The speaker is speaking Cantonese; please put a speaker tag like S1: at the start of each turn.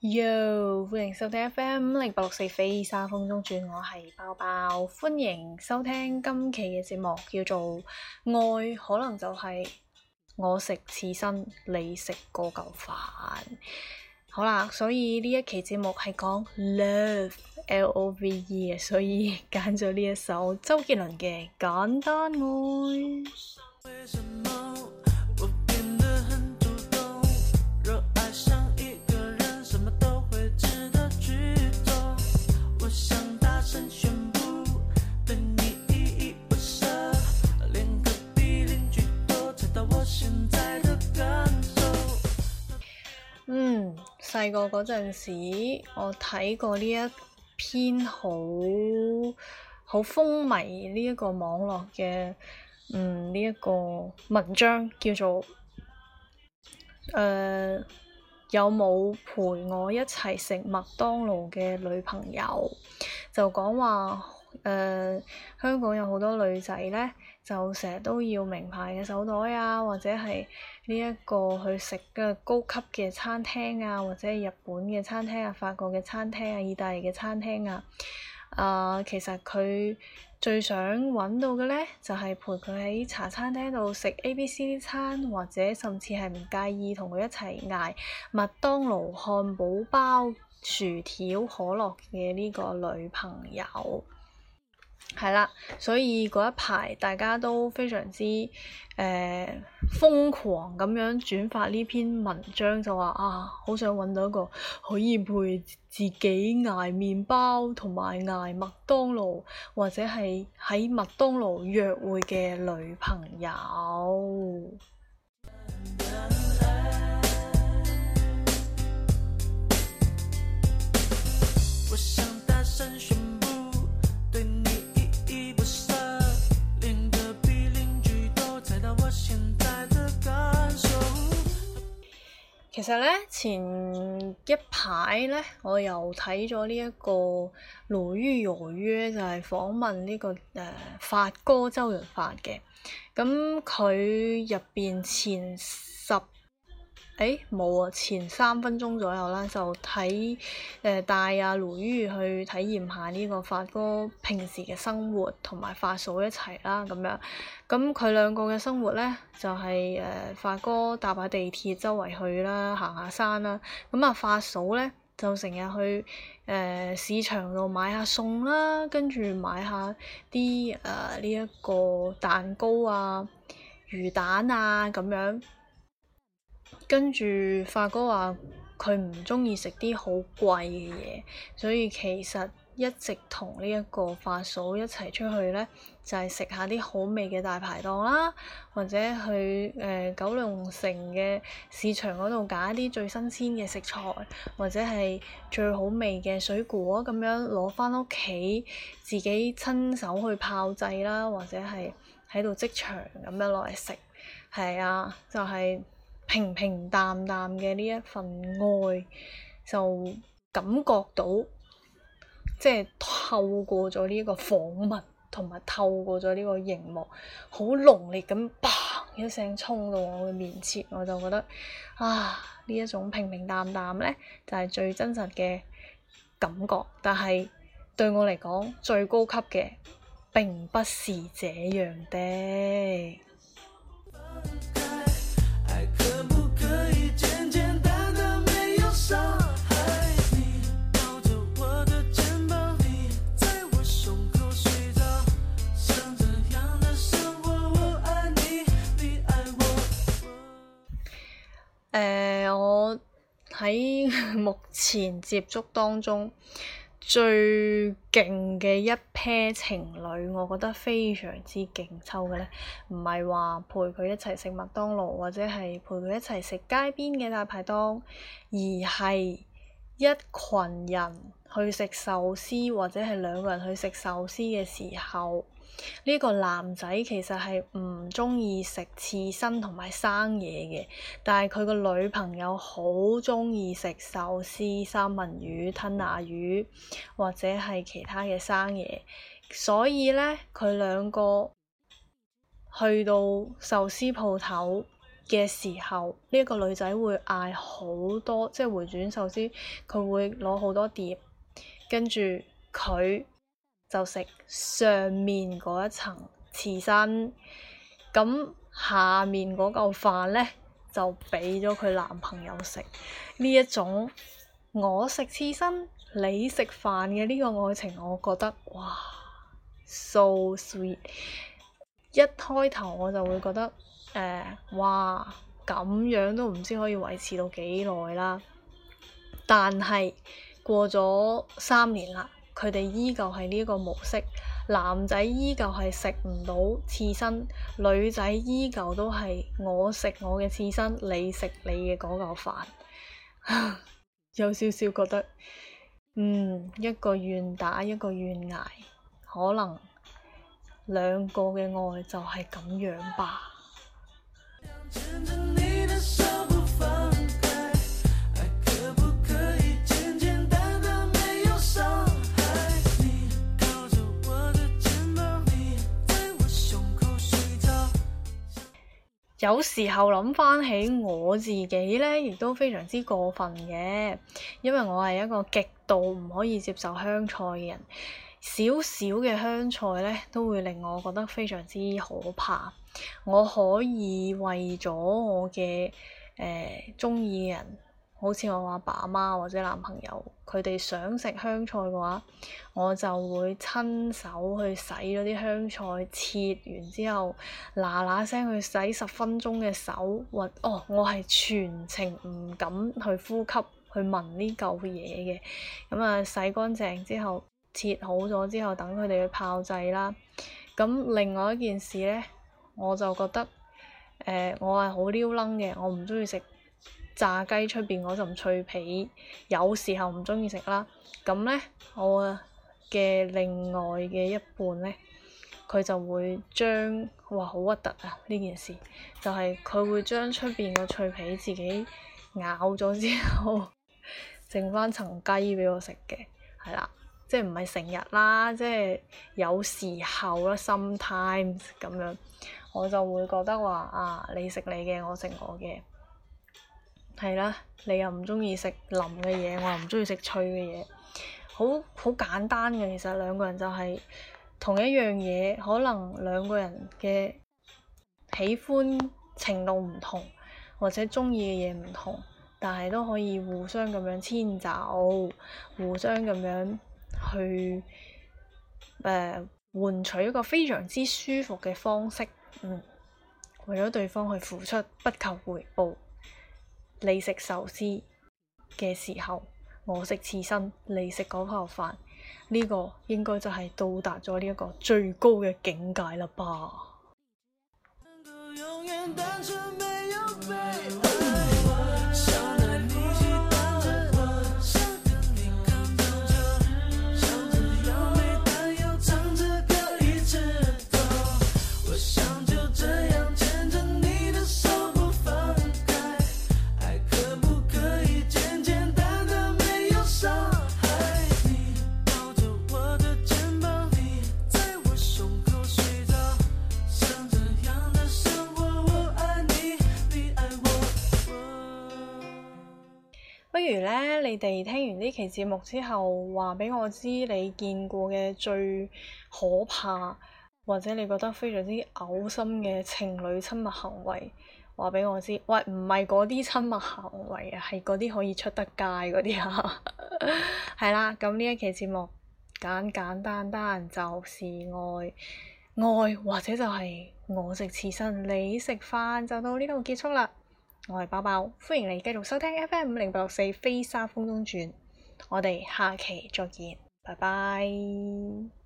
S1: Yo，歡迎收聽 FM 0864飛沙風中轉，我係包包，歡迎收聽今期嘅節目，叫做愛可能就係我食刺身，你食嗰嚿飯。好啦，所以呢一期節目係講 love，L-O-V-E 嘅，所以揀咗呢一首周杰倫嘅《簡單愛》。細個嗰陣時，我睇過呢一篇好風靡呢一個網絡嘅呢一個文章，叫做有冇陪我一齊食麥當勞嘅女朋友？就講話香港有好多女仔呢，就成日都要名牌嘅手袋啊，或者係呢一個去食嘅高級嘅餐廳啊，或者係日本嘅餐廳啊、法國嘅餐廳啊、意大利嘅餐廳啊。其實佢最想揾到嘅呢，就係陪佢喺茶餐廳度食 ABC 餐，或者甚至係唔介意同佢一齊嗌麥當勞漢堡包、薯條、可樂嘅呢個女朋友。係啦，所以嗰一排大家都非常之瘋狂咁樣轉發呢篇文章，就話好想揾到一個可以陪自己捱麵包同埋捱麥當勞，或者係喺麥當勞約會嘅女朋友。其實呢，前一排呢，我又睇咗呢一個《魯豫有約》，就係訪問呢個發哥周潤發嘅。咁佢入邊前3分鐘左右啦，就帶阿魯豫去體驗下呢個發哥平時嘅生活，同埋發嫂一齊啦咁樣。咁佢兩個嘅生活呢，就係發哥搭下地鐵周圍去啦，行下山啦。咁啊發嫂呢，就成日去市場度買下餸啦，跟住買下啲呢一個蛋糕啊、魚蛋啊咁樣。跟住發哥話佢唔鍾意食啲好貴嘅嘢，所以其實一直同呢一個發嫂一齊出去呢，就係食下啲好味嘅大排檔啦，或者去九龍城嘅市場嗰度揀一啲最新鮮嘅食材，或者係最好味嘅水果咁樣攞返屋企，自己親手去炮製啦，或者係喺度即場咁樣攞嚟食。係啊，就係平平淡淡嘅呢一份愛，就感覺到即係透過咗呢個訪問，同埋透過咗呢個熒幕，好濃烈咁砰一聲衝到我嘅面前，我就覺得呢一種平平淡淡呢，就係最真實嘅感覺。但係對我嚟講，最高級嘅並不是這樣的。我喺目前接觸當中最勁嘅一 pair 情侶，我覺得非常之勁抽嘅呢，唔係話陪佢一齊食麥當勞，或者係陪佢一齊食街邊嘅大排檔，而係一群人去食壽司，或者係兩個人去食壽司嘅時候，呢個男仔其實係唔鍾意食刺身同埋生嘢嘅，但係佢個女朋友好鍾意食壽司、三文魚、吞拿魚或者係其他嘅生嘢，所以呢，佢兩個去到壽司鋪頭嘅時候，呢個女仔會嗌好多，即係回轉壽司，佢會攞好多碟，跟住佢就食上面嗰一層刺身，咁下面嗰嚿飯呢，就俾咗佢男朋友食。呢一種我食刺身你食飯嘅呢個愛情，我覺得哇 so sweet。一開頭我就會覺得哇咁樣都唔知可以維持到幾耐啦。但係過咗3年啦，佢哋依舊係呢個模式，男仔依舊係食唔到刺身，女仔依舊都係我食我嘅刺身，你食你嘅嗰嚿飯。有少少覺得一個願打一個願挨，可能兩個嘅愛就係咁樣吧。有時候諗返起我自己呢，亦都非常之過分嘅，因為我係一個極度唔可以接受香菜嘅人，少少嘅香菜呢，都會令我覺得非常之可怕。我可以為咗我嘅鍾意嘅人，好似我阿爸阿媽或者男朋友，佢哋想食香菜嘅話，我就會親手去洗咗啲香菜，切完之後嗱嗱聲去洗10分鐘嘅手，我係全程唔敢去呼吸去聞呢嚿嘢嘅。咁啊，洗乾淨之後，切好咗之後，等佢哋去炮製啦。咁另外一件事呢，我就覺得我係好撩楞嘅，我唔中意食炸雞出邊嗰陣脆皮，有時候唔中意食啦。咁呢，我嘅另外嘅一半呢，佢就會將好核突啊！呢件事就係佢會將出邊個脆皮自己咬咗之後，剩翻層雞畀我食嘅，係啦，即係唔係成日啦，即係有時候啦 sometimes 咁樣，我就會覺得話你食你嘅，我食我嘅。係啦，你又唔中意食腍嘅嘢，我又唔中意食脆嘅嘢，好簡單嘅。其實兩個人就係同一樣嘢，可能兩個人嘅喜歡程度唔同，或者中意嘅嘢唔同，但係都可以互相咁樣遷就，互相咁樣去換取一個非常之舒服嘅方式。為咗對方去付出，不求回報。你食壽司嘅時候，我食刺身，你食嗰泡飯，呢個應該就係到達咗呢一個最高嘅境界啦吧。不如呢，你哋聽完呢期節目之後，話俾我知你見過嘅最可怕，或者你覺得非常之嘔心嘅情侶親密行為，話俾我知。喂，唔係嗰啲親密行為啊，係嗰啲可以出得街嗰啲啊。係啦，咁呢一期節目簡簡單單就是愛，愛或者就係我食刺身，你食飯，就到呢度結束啦。我係包包，歡迎你繼續收聽 FM 50864飛沙風中轉，我哋下期再見，拜拜。